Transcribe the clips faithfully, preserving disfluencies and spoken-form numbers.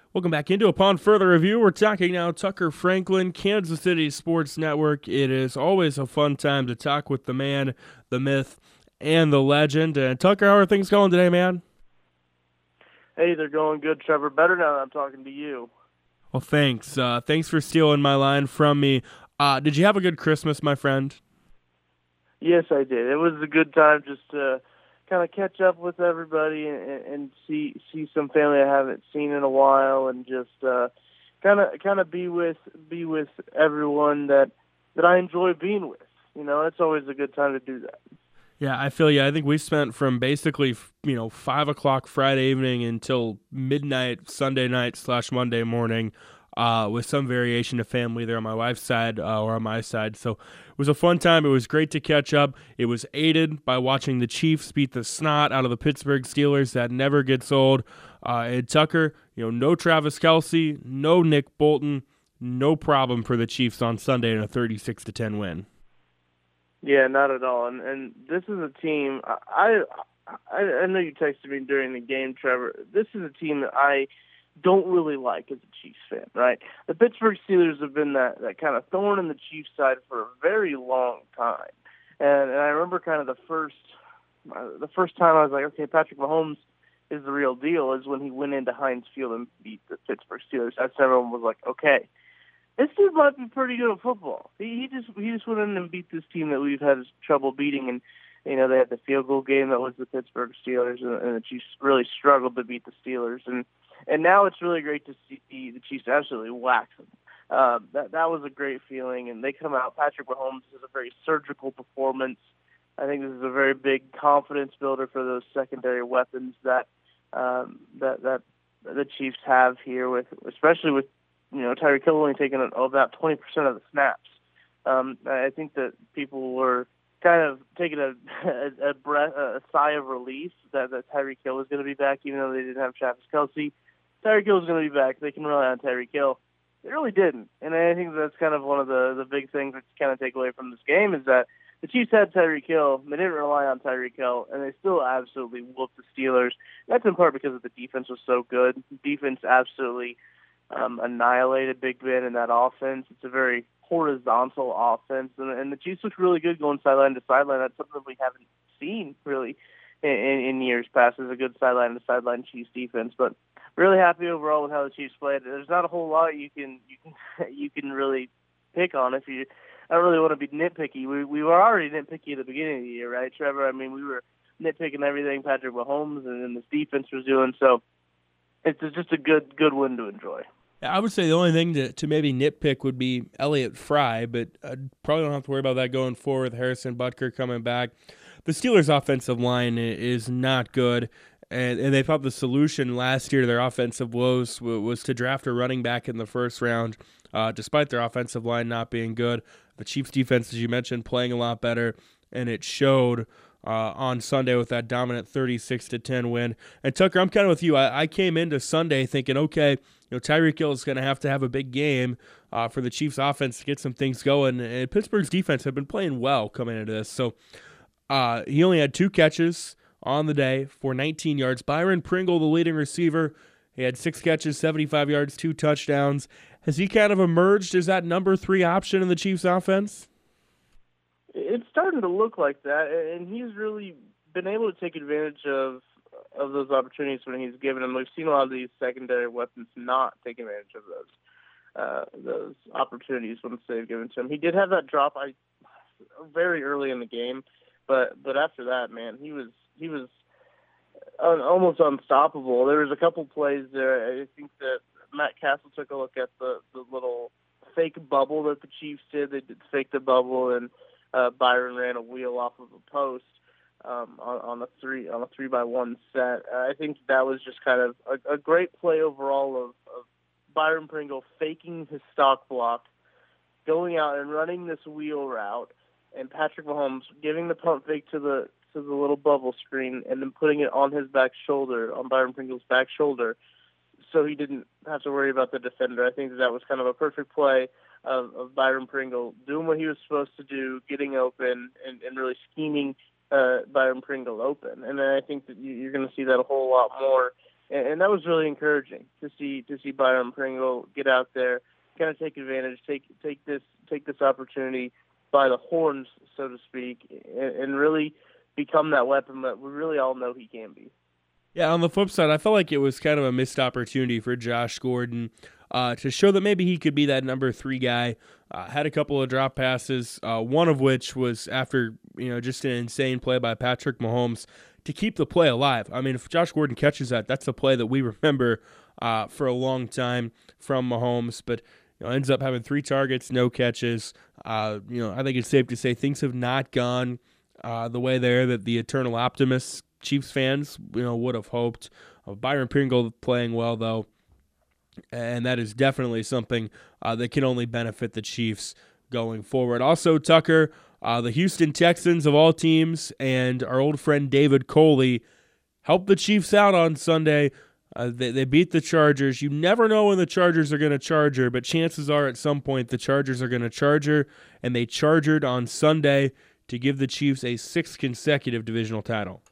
Welcome back into Upon Further Review. We're talking now Tucker Franklin, Kansas City Sports Network. It is always a fun time to talk with the man, the myth, and the legend. And Tucker, how are things going today, man? Hey, they're going good, Trevor. Better now that I'm talking to you. Well, thanks. Uh, thanks for stealing my line from me. Uh, did you have a good Christmas, my friend? Yes, I did. It was a good time just to kind of catch up with everybody and, and see see some family I haven't seen in a while, and just kind of kind of be with be with everyone that that I enjoy being with. You know, it's always a good time to do that. Yeah, I feel you. I think we spent from basically, you know, five o'clock Friday evening until midnight Sunday night slash Monday morning, uh, with some variation of family there on my wife's side uh, or on my side. So it was a fun time. It was great to catch up. It was aided by watching the Chiefs beat the snot out of the Pittsburgh Steelers. That never gets old. Uh, and Tucker, you know, no Travis Kelce, no Nick Bolton, no problem for the Chiefs on Sunday in a thirty-six to ten win. Yeah, not at all. And and this is a team. I I, I know you texted me during the game, Trevor. This is a team that I don't really like as a Chiefs fan, right? The Pittsburgh Steelers have been that, that kind of thorn in the Chiefs' side for a very long time. And, and I remember kind of the first the first time I was like, okay, Patrick Mahomes is the real deal, is when he went into Heinz Field and beat the Pittsburgh Steelers. That's when everyone was like, okay, this dude might be pretty good at football. He, he just he just went in and beat this team that we've had trouble beating, and you know they had the field goal game that was the Pittsburgh Steelers, and, and the Chiefs really struggled to beat the Steelers, and and now it's really great to see the Chiefs absolutely wax them. Uh, that that was a great feeling, and they come out. Patrick Mahomes is a very surgical performance. I think this is a very big confidence builder for those secondary weapons that um, that that the Chiefs have here, with especially with you know Tyreek Hill only taking about twenty percent of the snaps. Um, I think that people were kind of taking a a, a breath, a sigh of relief that, that Tyreek Hill was going to be back, even though they didn't have Travis Kelce. Tyreek Hill is going to be back. They can rely on Tyreek Hill. They really didn't, and I think that's kind of one of the the big things that you kind of take away from this game is that the Chiefs had Tyreek Hill. They didn't rely on Tyreek Hill, and they still absolutely whooped the Steelers. That's in part because the defense was so good. Defense absolutely um, annihilated Big Ben in that offense. It's a very horizontal offense, and, and the Chiefs looked really good going sideline to sideline. That's something we haven't seen really in, in, in years past. Is a good sideline to sideline Chiefs defense, but really happy overall with how the Chiefs played. There's not a whole lot you can you can you can really pick on if you. I don't really want to be nitpicky. We we were already nitpicky at the beginning of the year, right, Trevor? I mean, we were nitpicking everything Patrick Mahomes and then this defense was doing. So it's just a good good win to enjoy. I would say the only thing to, to maybe nitpick would be Elliott Fry, but I probably don't have to worry about that going forward with Harrison Butker coming back. The Steelers' offensive line is not good, and, and they thought the solution last year to their offensive woes was to draft a running back in the first round, uh, despite their offensive line not being good. The Chiefs' defense, as you mentioned, playing a lot better, and it showed Uh, on Sunday with that dominant thirty-six to ten win. And Tucker, I'm kind of with you. I, I came into Sunday thinking, okay, you know, Tyreek Hill is going to have to have a big game uh, for the Chiefs offense to get some things going. And Pittsburgh's defense have been playing well coming into this. So uh, he only had two catches on the day for nineteen yards. Byron Pringle, the leading receiver, he had six catches, seventy-five yards, two touchdowns. Has he kind of emerged as that number three option in the Chiefs offense? It's starting to look like that, and he's really been able to take advantage of of those opportunities when he's given them. We've seen a lot of these secondary weapons not take advantage of those uh, those opportunities once they've given to him. He did have that drop I very early in the game, but but after that, man, he was he was un, almost unstoppable. There was a couple plays there. I think that Matt Castle took a look at the the little fake bubble that the Chiefs did. They did fake the bubble, and Uh, Byron ran a wheel off of a post um, on, on a three on a three by one set. Uh, I think that was just kind of a, a great play overall of, of Byron Pringle faking his stock block, going out and running this wheel route, and Patrick Mahomes giving the pump fake to the to the little bubble screen and then putting it on his back shoulder, on Byron Pringle's back shoulder, so he didn't have to worry about the defender. I think that, that was kind of a perfect play Of, of Byron Pringle doing what he was supposed to do, getting open, and, and really scheming uh, Byron Pringle open. And then I think that you, you're going to see that a whole lot more and, and that was really encouraging to see to see Byron Pringle get out there, kind of take advantage, take take this take this opportunity by the horns, so to speak, and, and really become that weapon that we really all know he can be. Yeah, on the flip side, I felt like it was kind of a missed opportunity for Josh Gordon uh, to show that maybe he could be that number three guy. Uh, had a couple of drop passes, uh, one of which was after you know just an insane play by Patrick Mahomes to keep the play alive. I mean, if Josh Gordon catches that, that's a play that we remember uh, for a long time from Mahomes, but you know, ends up having three targets, no catches. Uh, you know, I think it's safe to say things have not gone uh, the way there that the eternal optimists, Chiefs fans, you know, would have hoped. Uh, Byron Pringle playing well, though, and that is definitely something uh, that can only benefit the Chiefs going forward. Also, Tucker, uh, the Houston Texans of all teams, and our old friend David Coley helped the Chiefs out on Sunday. Uh, they, they beat the Chargers. You never know when the Chargers are going to charge her, but chances are at some point the Chargers are going to charge her, and they chargered on Sunday to give the Chiefs a sixth consecutive divisional title.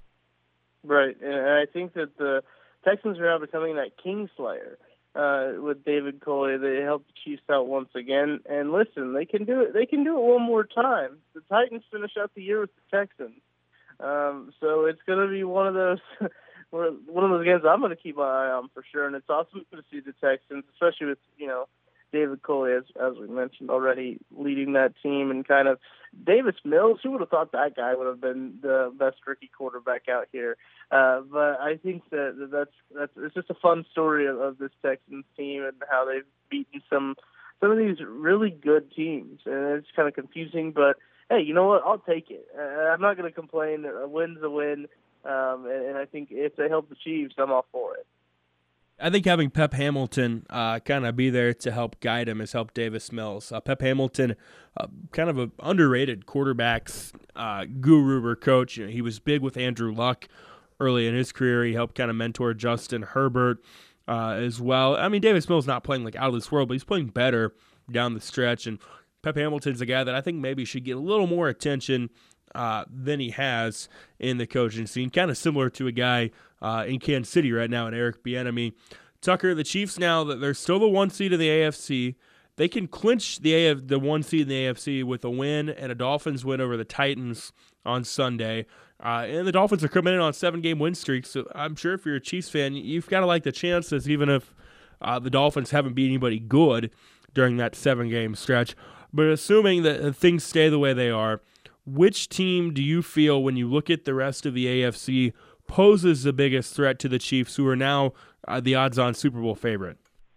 Right, and I think that the Texans are now becoming that Kingslayer uh, with David Coley. They helped the Chiefs out once again, and listen, they can do it. They can do it one more time. The Titans finish out the year with the Texans, um, so it's going to be one of those one of those games I'm going to keep my eye on for sure. And it's awesome to see the Texans, especially with you know David Coley, as as we mentioned already, leading that team, and kind of Davis Mills. Who would have thought that guy would have been the best rookie quarterback out here? Uh, but I think that that's that's it's just a fun story of, of this Texans team and how they've beaten some some of these really good teams, and it's kind of confusing. But hey, you know what? I'll take it. Uh, I'm not going to complain. A win's a win, um, and, and I think if they help the Chiefs, I'm all for it. I think having Pep Hamilton uh, kind of be there to help guide him has helped Davis Mills. Uh, Pep Hamilton, uh, kind of an underrated quarterbacks uh, guru or coach. You know, he was big with Andrew Luck early in his career. He helped kind of mentor Justin Herbert uh, as well. I mean, Davis Mills not playing like out of this world, but he's playing better down the stretch. And Pep Hamilton's a guy that I think maybe should get a little more attention Uh, than he has in the coaching scene. Kind of similar to a guy uh, in Kansas City right now, in Eric Bieniemy. Tucker, the Chiefs now, that they're still the one seed in the A F C. They can clinch the A F, the one seed in the A F C with a win and a Dolphins win over the Titans on Sunday. Uh, and the Dolphins are coming in on a seven-game win streak, so I'm sure if you're a Chiefs fan, you've got to like the chances, even if uh, the Dolphins haven't beat anybody good during that seven-game stretch. But assuming that things stay the way they are, which team do you feel, when you look at the rest of the A F C, poses the biggest threat to the Chiefs, who are now uh, the odds-on Super Bowl favorite?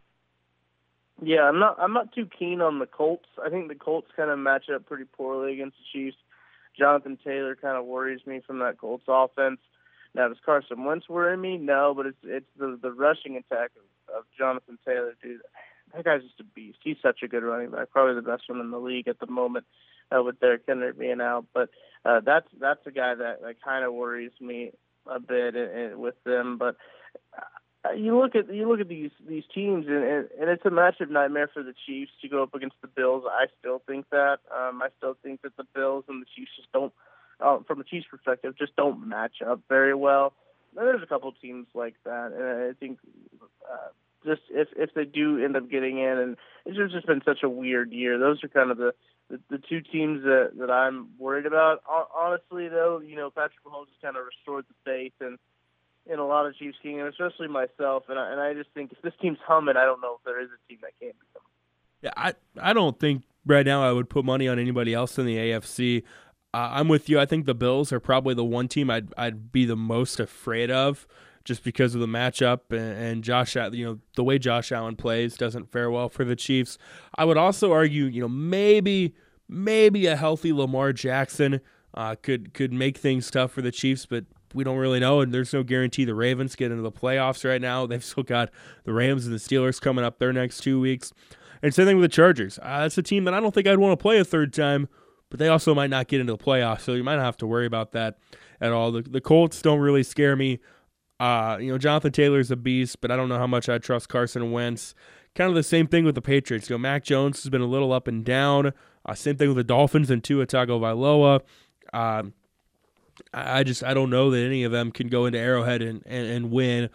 Yeah, I'm not. I'm not too keen on the Colts. I think the Colts kind of match up pretty poorly against the Chiefs. Jonathan Taylor kind of worries me from that Colts offense. Now, does Carson Wentz worry me? No, but it's it's the the rushing attack of, of Jonathan Taylor, dude. That guy's just a beast. He's such a good running back, probably the best one in the league at the moment. Uh, with Derrick Henry being out, but uh, that's that's a guy that, that kind of worries me a bit in, in, with them. But uh, you look at you look at these these teams, and, and, and it's a matchup nightmare for the Chiefs to go up against the Bills. I still think that. Um, I still think that the Bills and the Chiefs just don't, uh, from a Chiefs perspective, just don't match up very well. And there's a couple of teams like that, and I think. Uh, Just if if they do end up getting in, and it's just been such a weird year. Those are kind of the, the, the two teams that, that I'm worried about. Honestly, though, you know, Patrick Mahomes has kind of restored the faith in, in a lot of Chiefs teams, and especially myself. And I, and I just think if this team's humming, I don't know if there is a team that can beat them. Yeah, I I don't think right now I would put money on anybody else in the A F C. Uh, I'm with you. I think the Bills are probably the one team I'd I'd be the most afraid of, just because of the matchup and, and Josh, you know, the way Josh Allen plays doesn't fare well for the Chiefs. I would also argue, you know, maybe maybe a healthy Lamar Jackson uh, could could make things tough for the Chiefs, but we don't really know, and there's no guarantee the Ravens get into the playoffs right now. They've still got the Rams and the Steelers coming up their next two weeks. And same thing with the Chargers. Uh, that's a team that I don't think I'd want to play a third time, but they also might not get into the playoffs, so you might not have to worry about that at all. The, the Colts don't really scare me. Uh, you know, Jonathan Taylor's a beast, but I don't know how much I trust Carson Wentz. Kind of the same thing with the Patriots. You know, Mac Jones has been a little up and down. Uh, same thing with the Dolphins and Tua Tagovailoa. Um, I just I don't know that any of them can go into Arrowhead and, and, and win.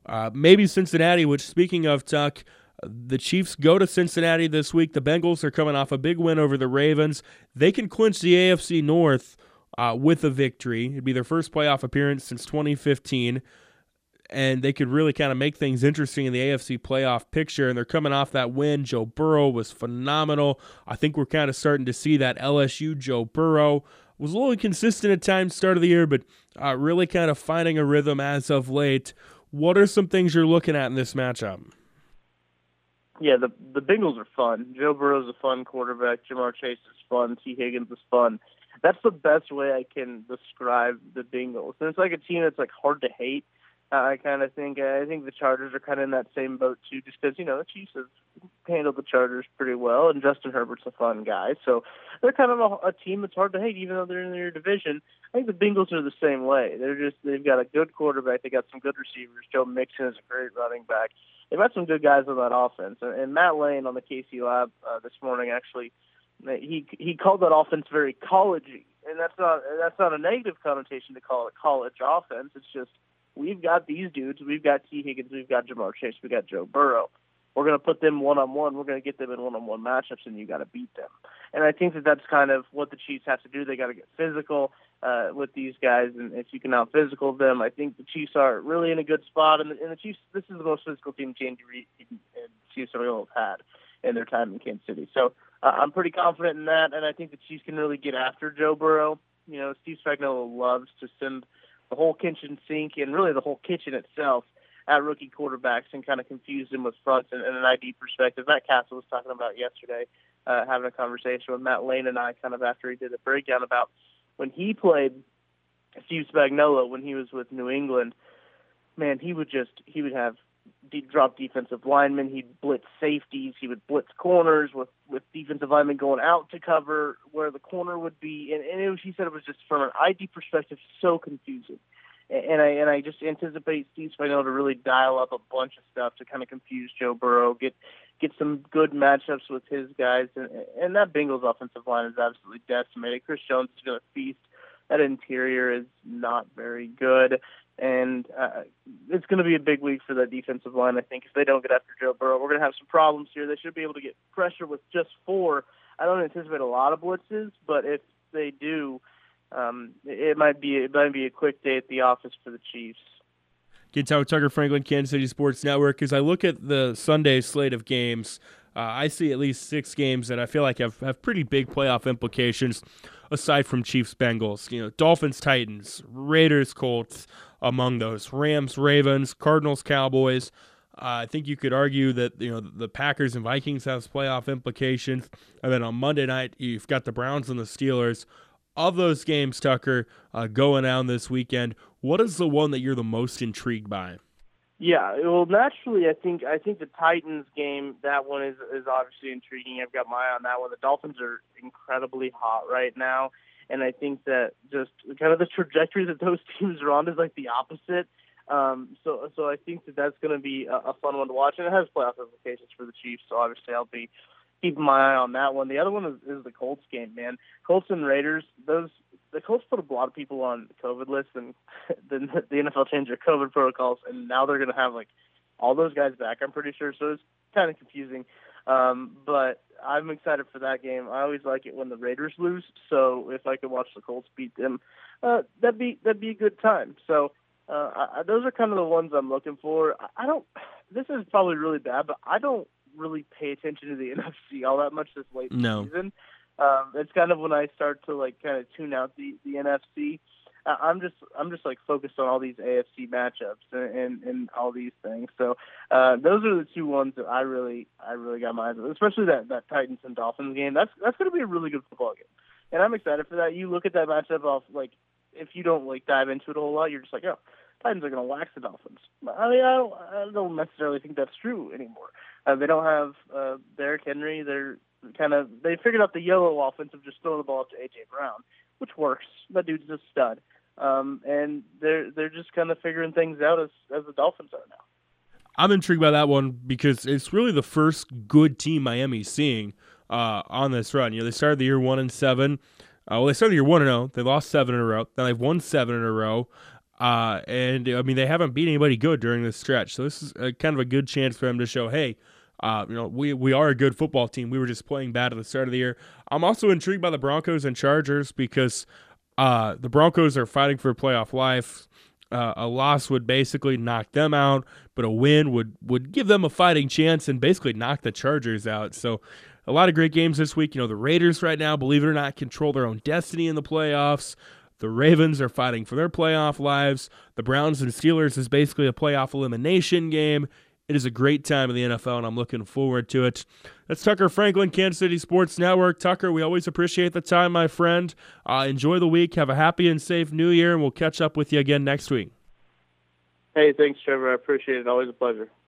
Uh, maybe Cincinnati, which, speaking of Tuck, the Chiefs go to Cincinnati this week. The Bengals are coming off a big win over the Ravens. They can clinch the A F C North uh, with a victory. It'd be their first playoff appearance since twenty fifteen, and they could really kind of make things interesting in the A F C playoff picture, and they're coming off that win. Joe Burrow was phenomenal. I think we're kind of starting to see that L S U Joe Burrow was a little inconsistent at times start of the year, but uh, really kind of finding a rhythm as of late. What are some things you're looking at in this matchup? Yeah, the the Bengals are fun. Joe Burrow's a fun quarterback. Jamar Chase is fun. T. Higgins is fun. That's the best way I can describe the Bengals. And it's like a team that's like hard to hate. Uh, I kind of think I think the Chargers are kind of in that same boat too, just because you know the Chiefs have handled the Chargers pretty well, and Justin Herbert's a fun guy. So they're kind of a, a team that's hard to hate, even though they're in their division. I think the Bengals are the same way. They're just they've got a good quarterback. They got some good receivers. Joe Mixon is a great running back. They've got some good guys on that offense. And, and Matt Lane on the K C Lab uh, this morning actually he he called that offense very collegey, and that's not that's not a negative connotation to call it college offense. It's just we've got these dudes. We've got T. Higgins. We've got Jamar Chase. We've got Joe Burrow. We're going to put them one-on-one. We're going to get them in one-on-one matchups, and you got to beat them. And I think that that's kind of what the Chiefs have to do. They got to get physical uh, with these guys, and if you can out-physical them, I think the Chiefs are really in a good spot. And the, and the Chiefs, this is the most physical team Andy Reid and Chiefs have had in their time in Kansas City. So uh, I'm pretty confident in that, and I think the Chiefs can really get after Joe Burrow. You know, Steve Spagnuolo loves to send the whole kitchen sink and really the whole kitchen itself at rookie quarterbacks and kind of confuse them with fronts and, and an I D perspective. Matt Castle was talking about yesterday, uh, having a conversation with Matt Lane and I kind of after he did a breakdown about when he played Steve Spagnuolo when he was with New England. Man, he would just, he would have deep drop defensive linemen. He'd blitz safeties. He would blitz corners with, with defensive linemen going out to cover where the corner would be. And, and it was, he said it was just from an I D perspective so confusing. And I and I just anticipate Steve Spagnuolo to really dial up a bunch of stuff to kind of confuse Joe Burrow, get get some good matchups with his guys, and, and that Bengals offensive line is absolutely decimated. Chris Jones is going to feast. That interior is not very good, and uh, it's going to be a big week for that defensive line. I think if they don't get after Joe Burrow, we're going to have some problems here. They should be able to get pressure with just four. I don't anticipate a lot of blitzes, but if they do, Um, it might be it might be a quick day at the office for the Chiefs. Get out Tucker Franklin, Kansas City Sports Network. As I look at the Sunday slate of games, uh, I see at least six games that I feel like have, have pretty big playoff implications. Aside from Chiefs Bengals, you know, Dolphins Titans, Raiders Colts among those, Rams Ravens, Cardinals Cowboys. Uh, I think you could argue that you know the Packers and Vikings have playoff implications, and then on Monday night you've got the Browns and the Steelers. Of those games, Tucker, uh, going down this weekend, what is the one that you're the most intrigued by? Yeah, well, naturally, I think I think the Titans game, that one is is obviously intriguing. I've got my eye on that one. The Dolphins are incredibly hot right now, and I think that just kind of the trajectory that those teams are on is like the opposite. Um, so, so I think that that's going to be a, a fun one to watch, and it has playoff implications for the Chiefs. So obviously, I'll be keeping my eye on that one. The other one is, is the Colts game, man. Colts and Raiders. Those the Colts put a lot of people on the COVID list, and then the N F L changed their COVID protocols, and now they're going to have like all those guys back. I'm pretty sure. So it's kind of confusing, um, but I'm excited for that game. I always like it when the Raiders lose. So if I could watch the Colts beat them, uh, that'd be that'd be a good time. So. Uh, I, those are kind of the ones I'm looking for. I, I don't. This is probably really bad, but I don't really pay attention to the N F C all that much this late in No. the season. Um, it's kind of when I start to like kind of tune out the, the N F C. Uh, I'm just I'm just like focused on all these A F C matchups and, and, and all these things. So uh, those are the two ones that I really I really got my eyes on, especially that, that Titans and Dolphins game. That's that's going to be a really good football game, and I'm excited for that. You look at that matchup off like. If you don't like dive into it a whole lot, you're just like, oh, Titans are going to wax the Dolphins. I mean, I don't, I don't necessarily think that's true anymore. Uh, they don't have uh, Derrick Henry. They're kind of they figured out the yellow offense of just throwing the ball up to A J Brown, which works. That dude's a stud, um, and they're they're just kind of figuring things out as as the Dolphins are now. I'm intrigued by that one because it's really the first good team Miami's seeing uh, on this run. You know, they started the year one and seven. Uh, well, they started the year one and zero. They lost seven in a row. Then they've won seven in a row. Uh, and I mean, they haven't beat anybody good during this stretch. So this is a, kind of a good chance for them to show, hey, uh, you know, we, we are a good football team. We were just playing bad at the start of the year. I'm also intrigued by the Broncos and Chargers because uh, the Broncos are fighting for playoff life. Uh, a loss would basically knock them out, but a win would, would give them a fighting chance and basically knock the Chargers out. So a lot of great games this week. You know, the Raiders right now, believe it or not, control their own destiny in the playoffs. The Ravens are fighting for their playoff lives. The Browns and Steelers is basically a playoff elimination game. It is a great time in the N F L, and I'm looking forward to it. That's Tucker Franklin, Kansas City Sports Network. Tucker, we always appreciate the time, my friend. Uh, enjoy the week. Have a happy and safe New Year, and we'll catch up with you again next week. Hey, thanks, Trevor. I appreciate it. Always a pleasure.